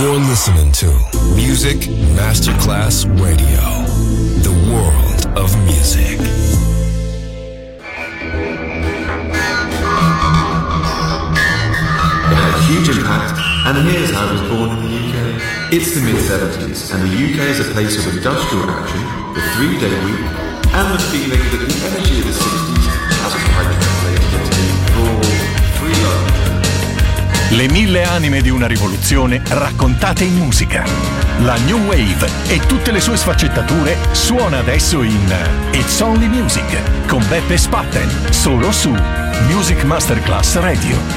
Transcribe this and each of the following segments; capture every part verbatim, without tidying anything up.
You're listening to Music Masterclass Radio, the world of music. It had a huge impact, and here's how it was born in the U K. It's the mid-seventies, and the U K is a place of industrial action, the three-day week, and the feeling that the energy of the sixties hasn't quite translated into raw, free love. Le mille anime di una rivoluzione raccontate in musica. La New Wave e tutte le sue sfaccettature suona adesso in It's Only Music con Beppe Spatten, solo su Music Masterclass Radio.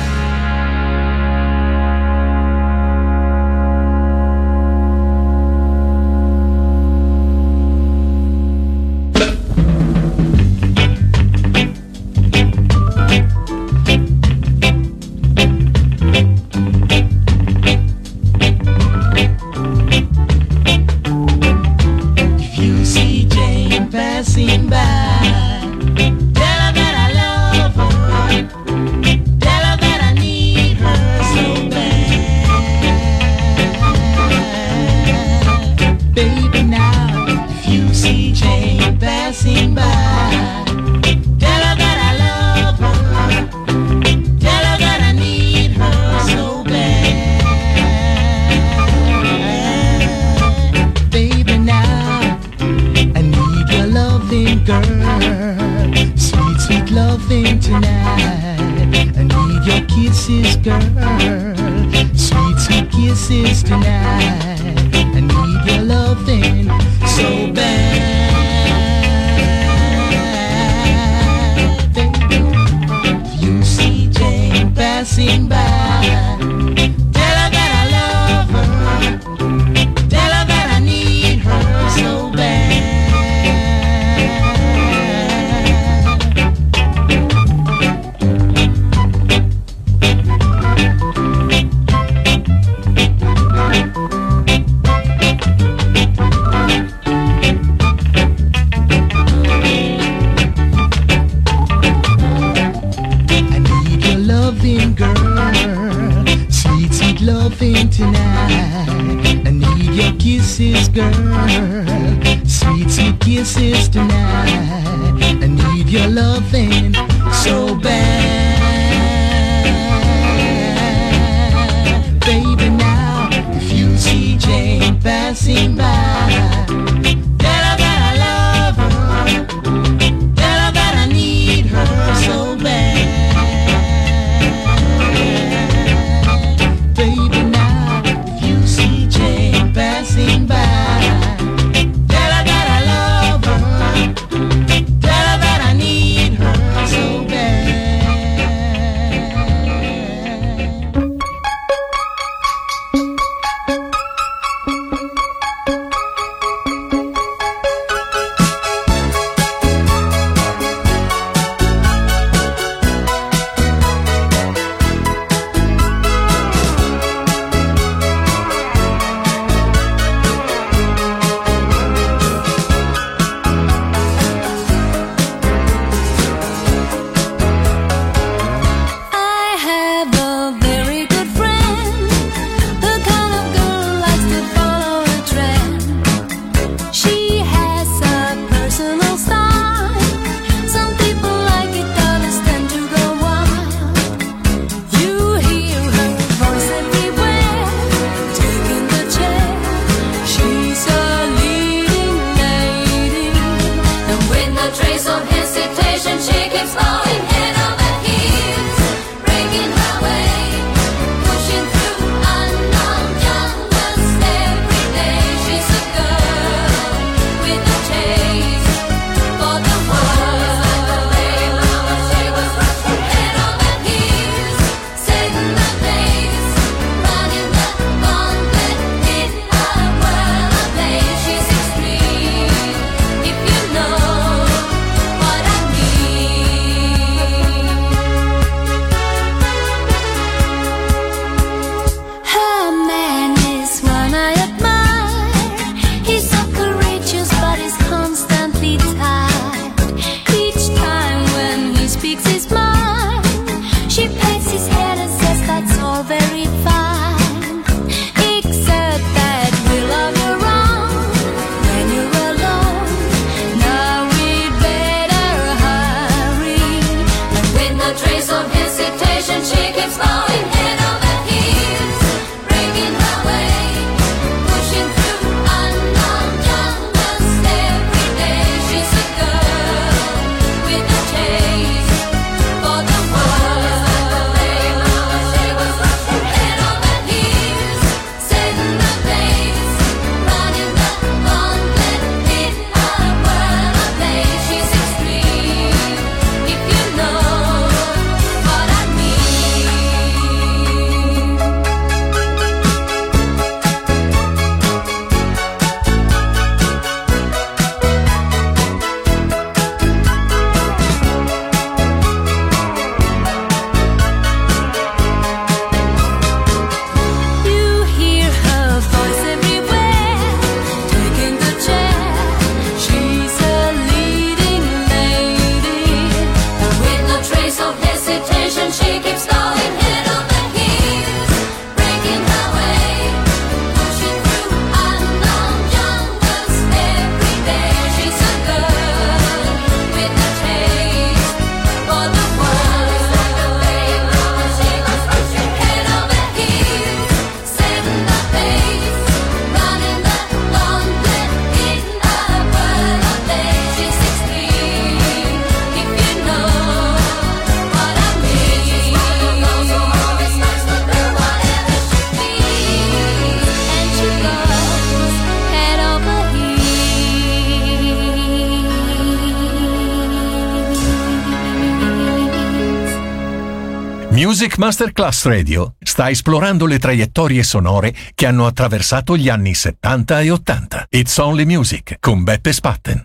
Music Masterclass Radio sta esplorando le traiettorie sonore che hanno attraversato gli anni settanta e ottanta. It's Only Music con Beppe Spatten.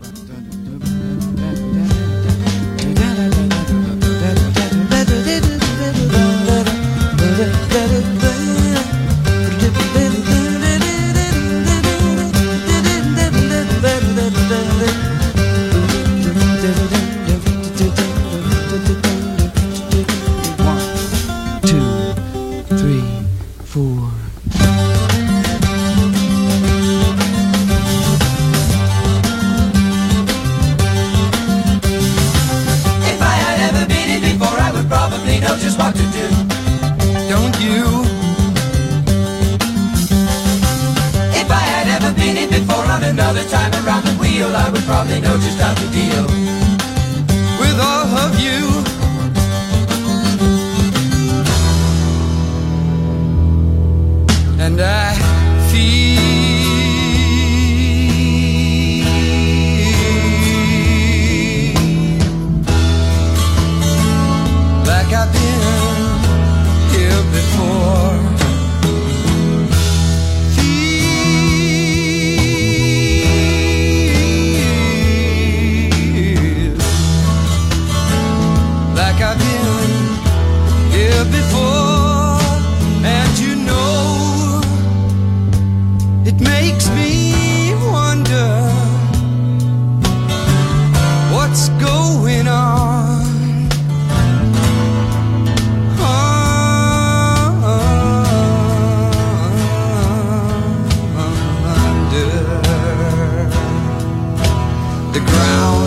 Another time around the wheel, I would probably know just how to deal with all of you. And I feel like I've been here before. I've been here before, and you know, it makes me wonder what's going on. Under the ground.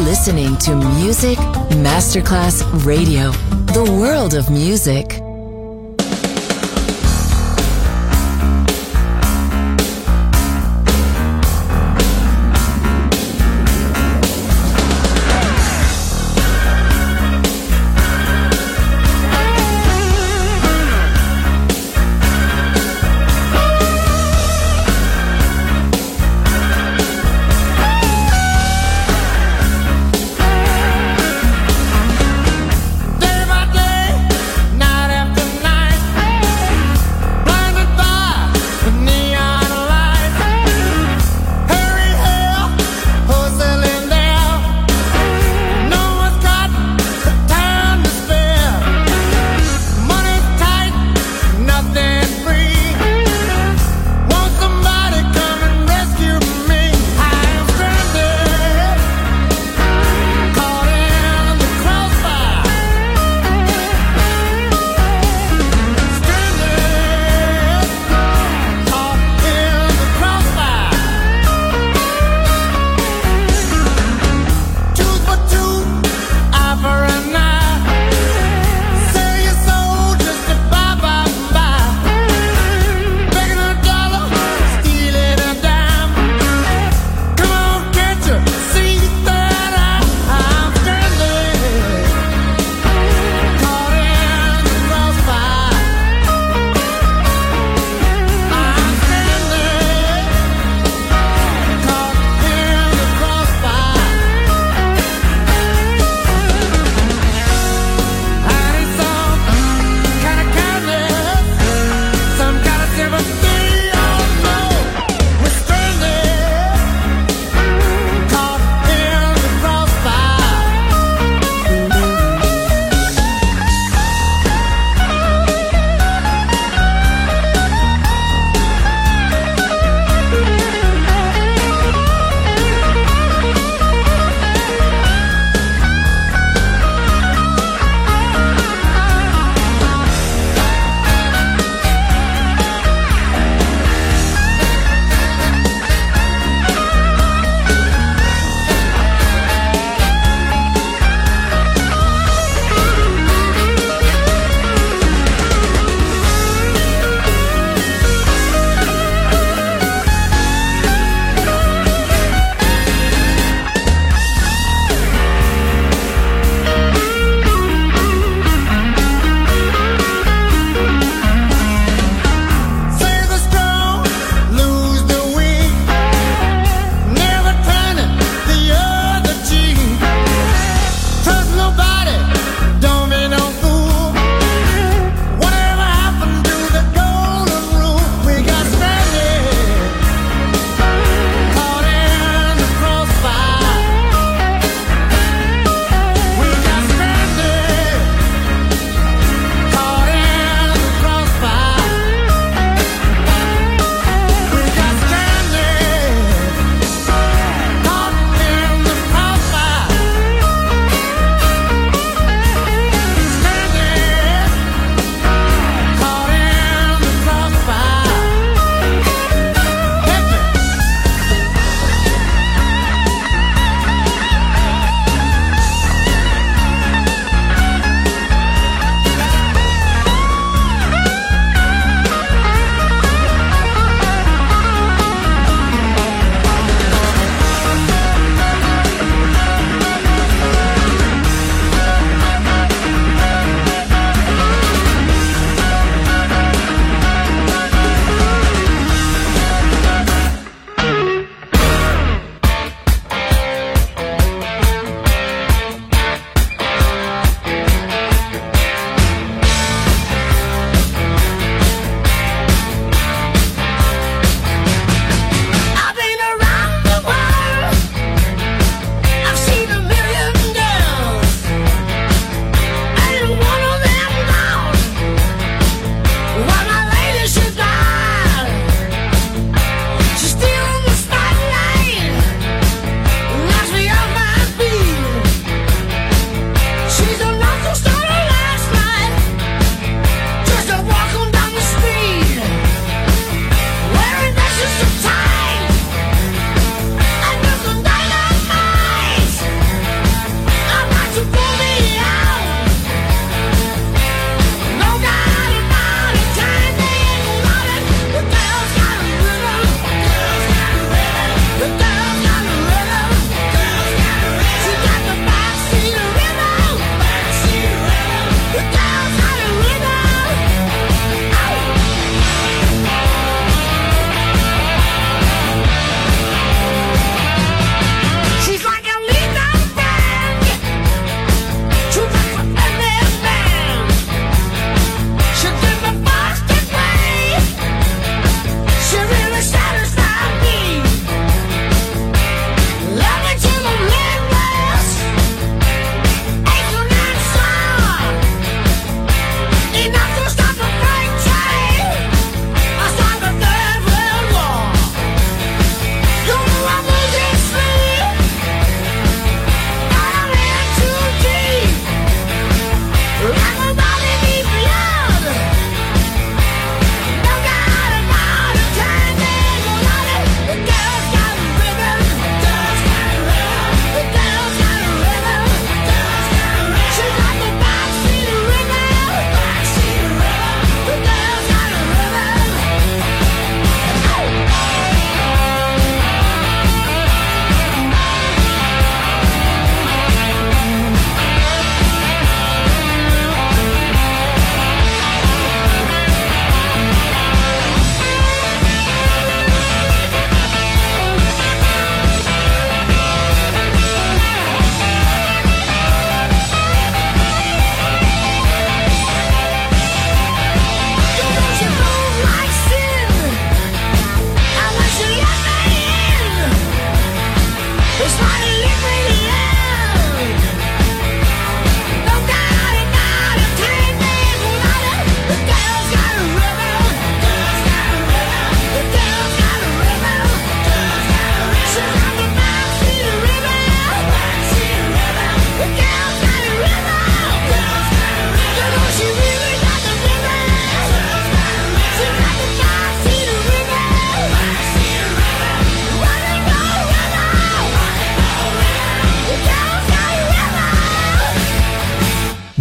listening to Music Masterclass Radio, the world of music. Day by day, night after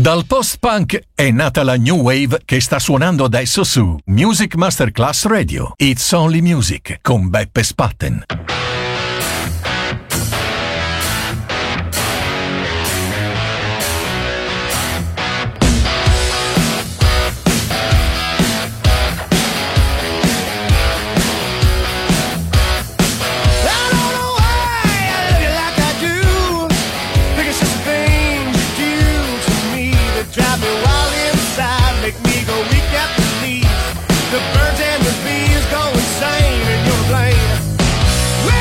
Dal post-punk è nata la new wave che sta suonando adesso su Music Masterclass Radio. It's Only Music con Beppe Spatten. The birds and the bees go insane and you're to blame.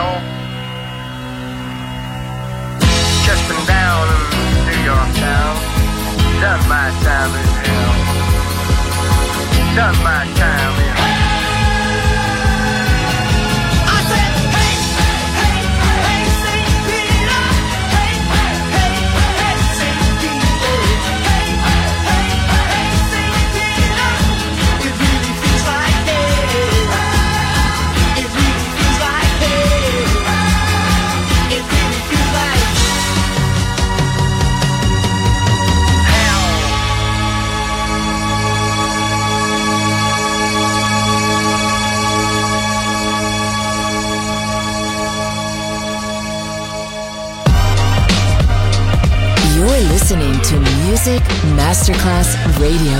hell. Just been down in New York town. Done my time in hell. Done my time in hell. You're listening to Music Masterclass Radio.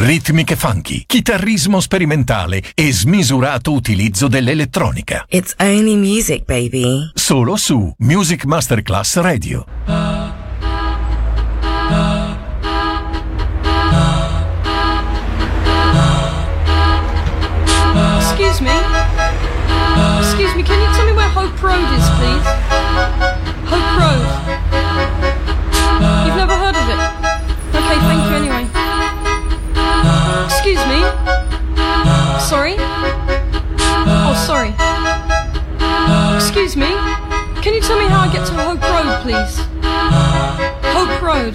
ritmiche funky, chitarrismo sperimentale e smisurato utilizzo dell'elettronica. It's only music, baby. Solo su Music Masterclass Radio. Excuse me. Excuse me, can you tell me where Hope Road is, please? Hope Road. You've never heard of it? Okay, thank you anyway. Excuse me. Sorry? Oh, sorry. Excuse me. Can you tell me how I get to Hope Road, please? Hope Road.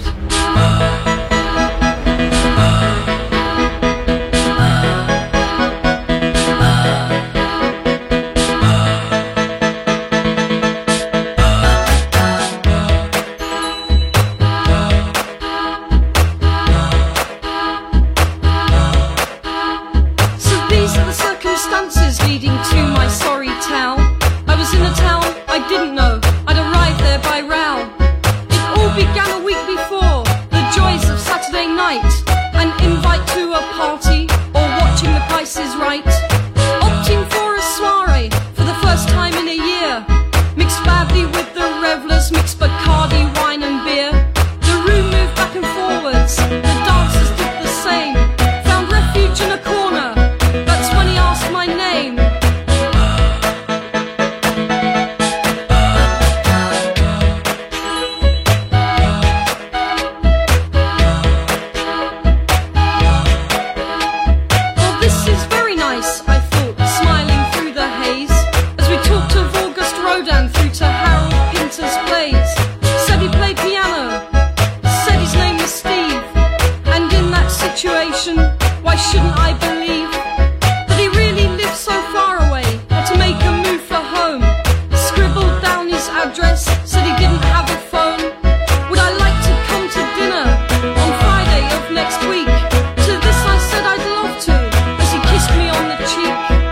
Leading to my sorry town. I was in a town I didn't know. I'd arrived there by row. It all began a week before. The joys of Saturday night. An invite to a party or watching The Price is Right. Opting for a soiree for the first time in a year. Mixed badly with the revellers, mixed Bacardi, wine and beer. The room moved back and forwards. The dancers did the same. Found refuge in a corner. That's when he asked my name. Well, this is very nice, I thought, smiling through the haze, as we talked of August Rodin through to Harold Pinter's plays. Said he played piano, said his name was Steve, and in that situation, why shouldn't I believe that he really lived so far away, had to make a move for home, scribbled down his address, said he didn't have a phone. Would I like to come to dinner on Friday of next week? To this I said I'd love to, as he kissed me on the cheek.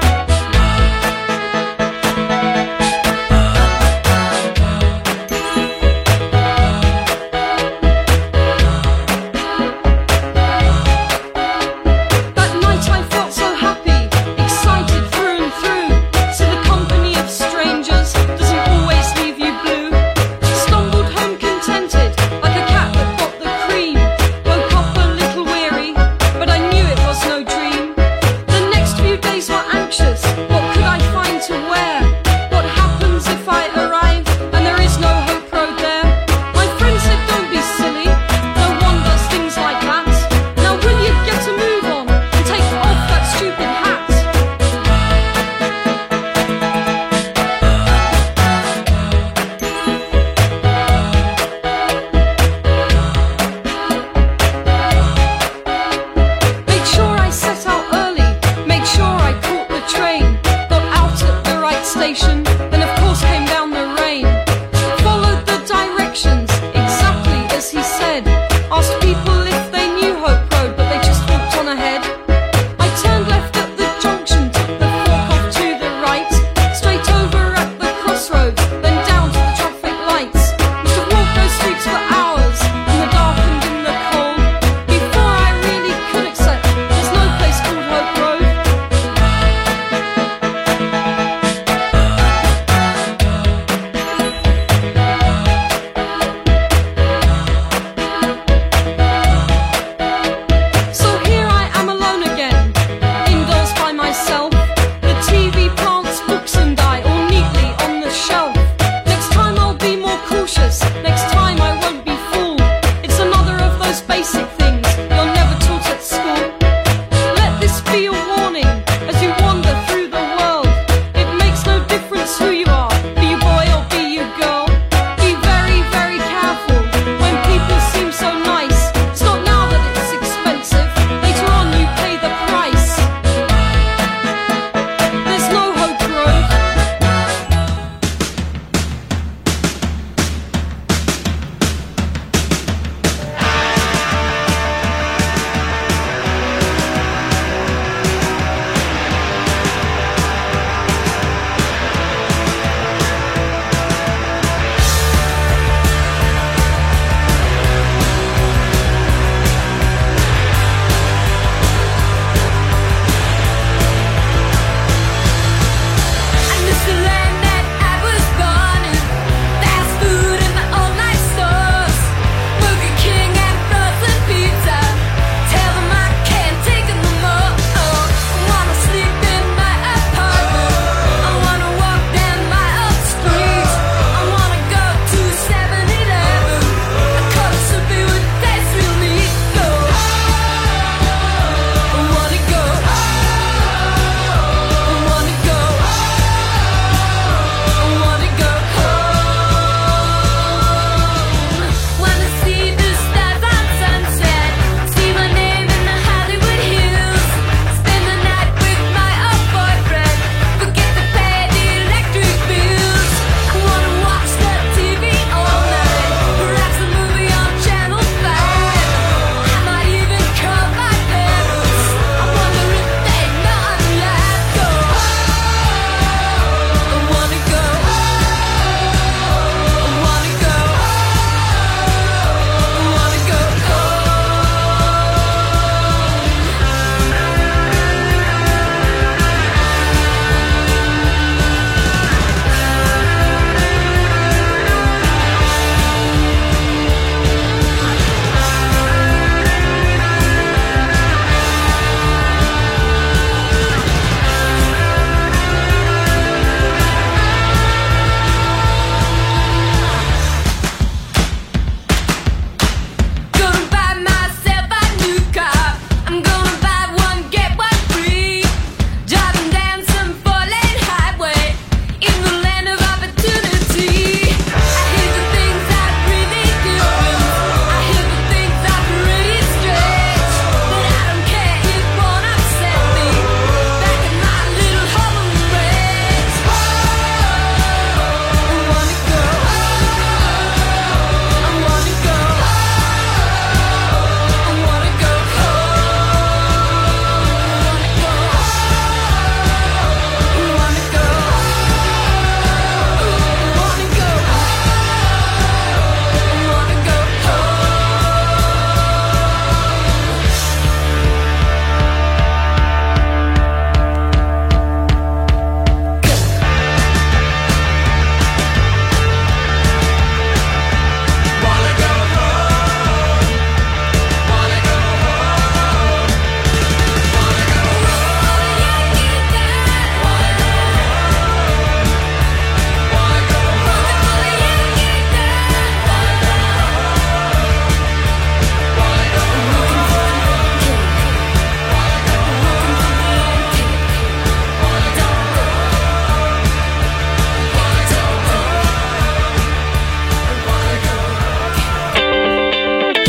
That night I felt so happy, excited through and through. So the company of strangers doesn't always leave you blue. Stumbled home contented, like a cat that got the cream. Woke up a little weary, but I knew it was no dream. The next few days were anxious. What could I find to wear? What happens if I arrive and there is no Hope Road there? My friend said, don't be silly. No one does things like that. Now will you get a move on and take off that stupid hat? Make sure I set out early, make sure I caught the train, got out at the right station, then of course came down the rain. Followed the directions, exactly as he said, asked people if they knew Hope Road, but they just walked on ahead. I turned left at the junction, took the fork off to the right, straight over at the crossroads, then down to the traffic lights. Must have walked those streets for hours, in the dark and in the cold, before I really could accept there's no place called Hope Road. So here I am alone again, indoors by myself. The T V, plants, books and I all neatly on the shelf. Next time I'll be more cautious, next time I won't be fooled. It's another of those basic things you're never taught at school. Let this be a warning as you wander through the world. It makes no difference who you are, be you boy or be you girl. Be very, very careful when people seem so nice. It's not now that it's expensive, later on you pay the price. There's no Hope Road.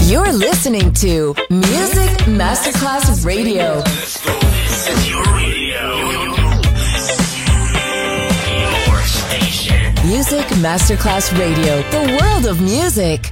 You're listening to Music Masterclass Radio. Let's go. This is your radio. Your station. Music Masterclass Radio. The world of music.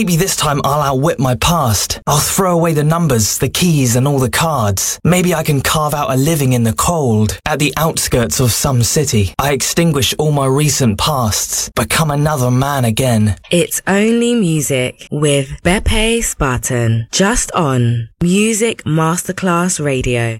Maybe this time I'll outwit my past. I'll throw away the numbers, the keys and all the cards. Maybe I can carve out a living in the cold, at the outskirts of some city. I extinguish all my recent pasts, become another man again. It's Only Music with Beppe Spartan, just on Music Masterclass Radio.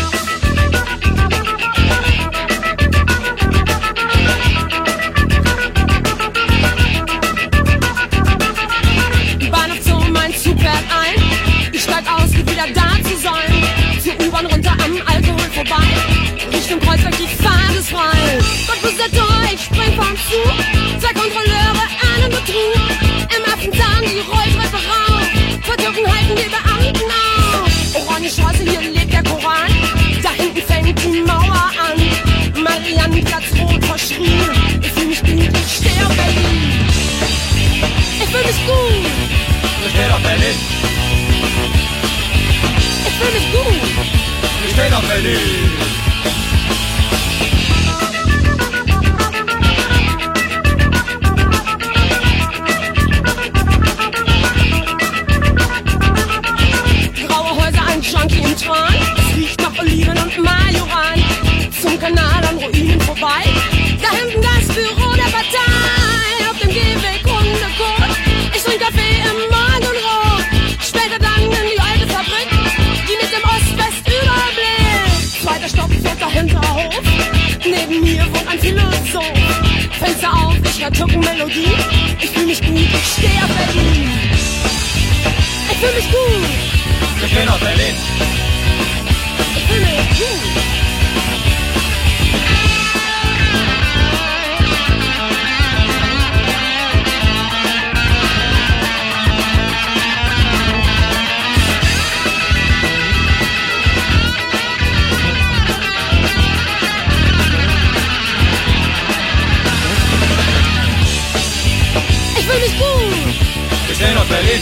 Richtung Kreuzberg, die Fahrt ist frei. Gott Besetzer, ich spring vom Zug. Zwei Kontrolleure, einen Betrug. Im Affenzahn die Rolltreppe rauf. Vertürken halten die Beamten auf. Orangenstraße, hier lebt der Koran. Da hinten fängt die Mauer an. Mariannenplatz rot verschrien. Ich fühl mich gut, ich steh auf Berlin. Ich fühl mich gut. Ich steh auf Berlin. Ich fühl mich gut. Ich steh auf Berlin. Junkie im Tran, es riecht nach Oliven und Majoran. Zum Kanal an Ruinen vorbei, da hinten das Büro der Partei. Auf dem Gehweg Hundekot, ich trink Kaffee im Morgenrot. Später dann in die alte Fabrik, die mit dem Ost-West-Überblick. Zweiter Stock, vierter Hinterhof, neben mir wohnt ein Philosoph. Fenster auf, ich hör Türkenmelodie, ich fühl mich gut, ich steh auf Berlin. Ich fühl mich gut. Wir stehen auf Berlin. Ich fühl mich gut. Ich fühl mich gut. Wir stehen auf Berlin.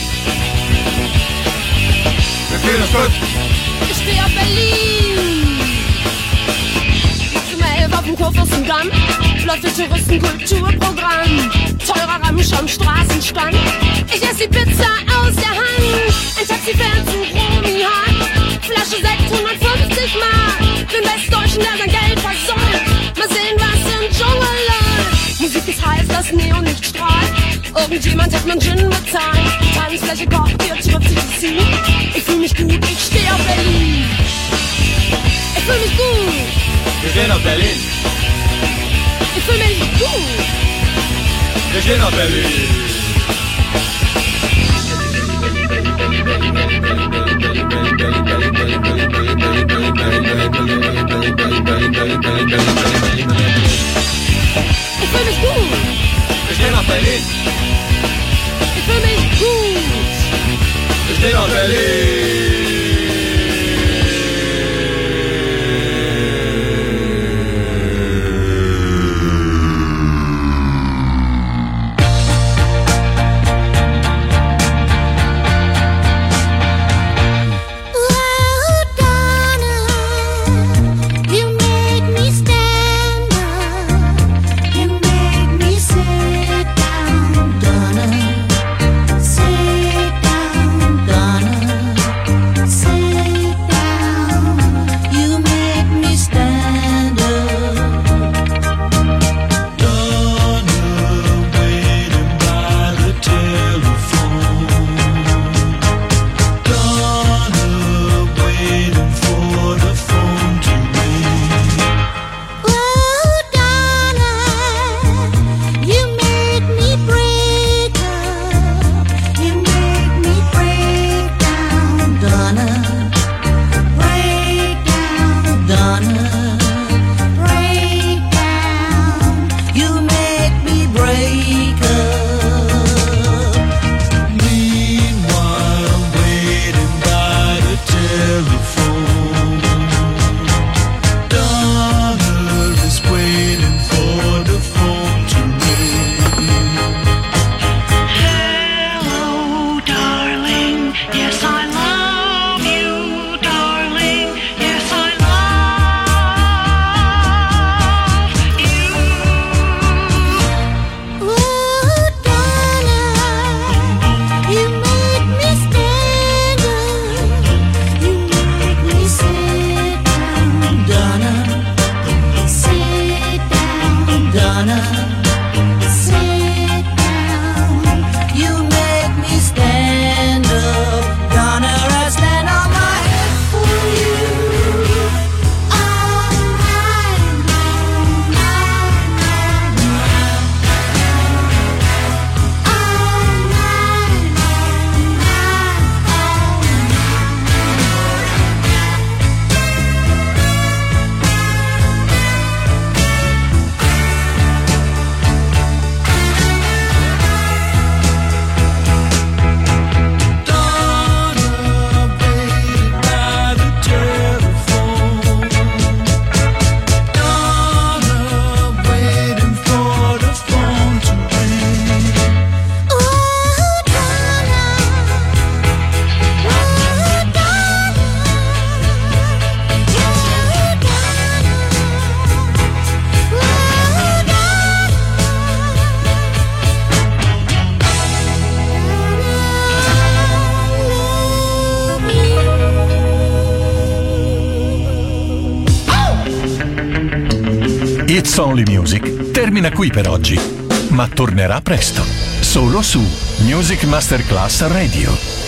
Wir fühlen uns gut. Ich steh auf Berlin. Nachts um elf auf dem Kurfürstendamm läuft das Touristenkulturprogramm. Teurer Ramsch am Straßenstand. Ich ess die Pizza aus der Hand. Ein Taxi fährt zu Romy-Hahn. Flasche Sekt, hundertfünfzig Mark. Den Westdeutschen, der sein Geld versäumt. Mal sehen, was im Dschungel läuft. Musik ist heiß, das Neonlicht strahlt. Irgendjemand hat man Gin bezahlt. Tanzfläche kocht, hier trifft sich die Scene. Ich fühl mich gut, ich steh auf Berlin. Ich fühl mich gut. Wir stehen auf Berlin. Ich fühl mich gut. Wir stehen auf Berlin. Ich fühl mich gut. Wir stehen auf Berlin. Ich fühl mich gut. Wir stehen auf Berlin. Sit down, Donna. It's Only Music termina qui per oggi, ma tornerà presto, solo su Music Masterclass Radio.